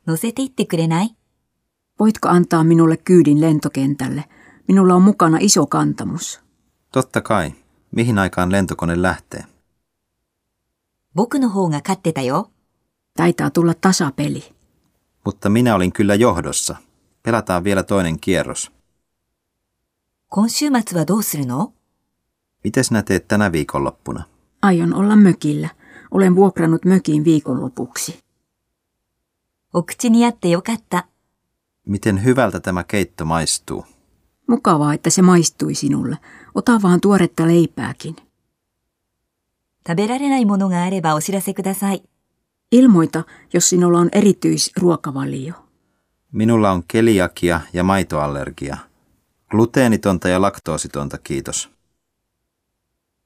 乗せて行ってくれない？ Voitko antaa minulle kyydin lentokentälle? Minulla on mukana iso kantamus. Totta kai. Mihin aikaan lentokone lähtee? 僕の方が勝ってたよ。 Taitaa tulla tasapeli. Mutta minä olin kyllä johdossa. Pelataan vielä toinen kierros. 今週末はどうするの？ Miten sinä teet tänä viikonloppuna? Aion olla mökillä. Olen vuokrannut mökin viikonlopuksi. お口に合ってよかった。 Miten hyvältä tämä keitto maistuu? Mukavaa, että se maistui sinulle. Ota vaan tuoretta leipääkin. 食べられないものがあればお知らせください。 Ilmoita, jos sinulla on erityisruokavalio. Minulla on keliakia ja maitoallergia. Gluteenitonta ja laktoositonta, kiitos.